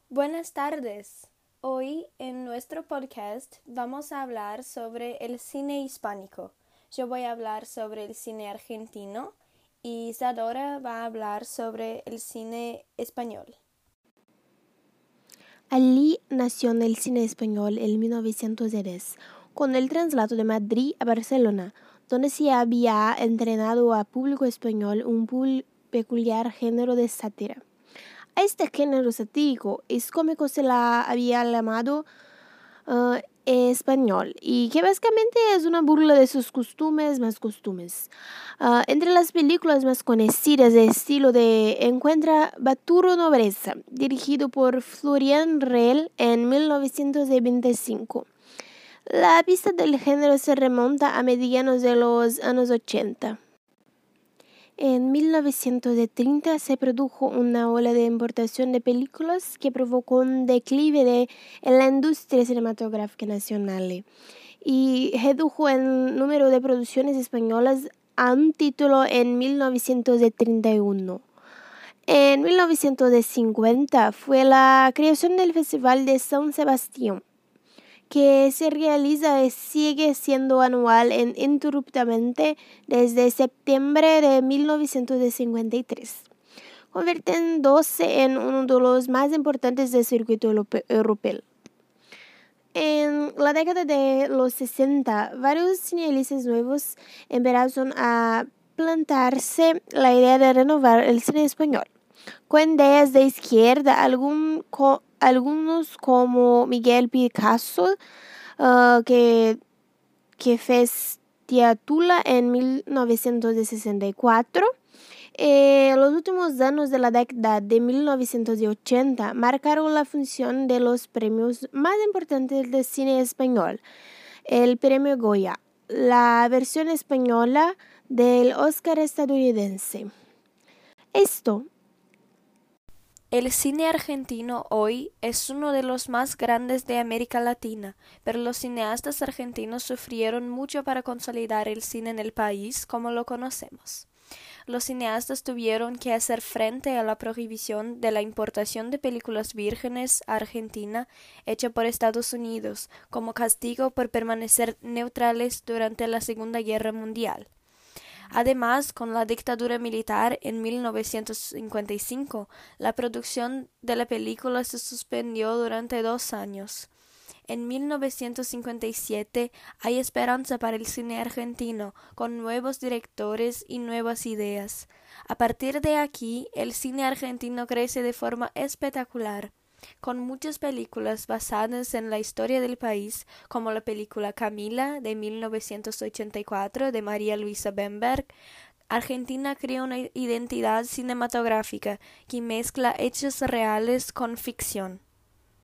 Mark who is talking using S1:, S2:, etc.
S1: Buenas tardes. Hoy en nuestro podcast vamos a hablar sobre el cine hispánico. Yo voy a hablar sobre el cine argentino y Isadora va a hablar sobre el cine español.
S2: Ali nació en el cine español en 1910, con el traslado de Madrid a Barcelona, donde se había entrenado a público español un peculiar género de sátira. A este género satírico es cómico se la había llamado español y que básicamente es una burla de sus costumes. Entre las películas más conocidas de estilo de encuentra Baturo Nobreza, dirigido por Florian Rell en 1925. La pista del género se remonta a medianos de los años 80. En 1930 se produjo una ola de importación de películas que provocó un declive en la industria cinematográfica nacional y redujo el número de producciones españolas a un título en 1931. En 1950 fue la creación del Festival de San Sebastián, que se realiza y sigue siendo anual ininterrumpidamente desde septiembre de 1953, convirtiéndose en uno de los más importantes del circuito europeo. En la década de los 60, varios cineastas nuevos empezaron a plantarse la idea de renovar el cine español, con ideas de izquierda, algunos como Miguel Picasso, que fez Tiatula en 1964. Los últimos años de la década de 1980 marcaron la función de los premios más importantes del cine español, el Premio Goya, la versión española del Oscar estadounidense.
S1: El cine argentino hoy es uno de los más grandes de América Latina, pero los cineastas argentinos sufrieron mucho para consolidar el cine en el país como lo conocemos. Los cineastas tuvieron que hacer frente a la prohibición de la importación de películas vírgenes a Argentina hecha por Estados Unidos como castigo por permanecer neutrales durante la Segunda Guerra Mundial. Además, con la dictadura militar en 1955, la producción de la película se suspendió durante 2 años. En 1957 hay esperanza para el cine argentino, con nuevos directores y nuevas ideas. A partir de aquí, el cine argentino crece de forma espectacular, con muchas películas basadas en la historia del país, como la película Camila de 1984 de María Luisa Bemberg. Argentina crea una identidad cinematográfica que mezcla hechos reales con ficción.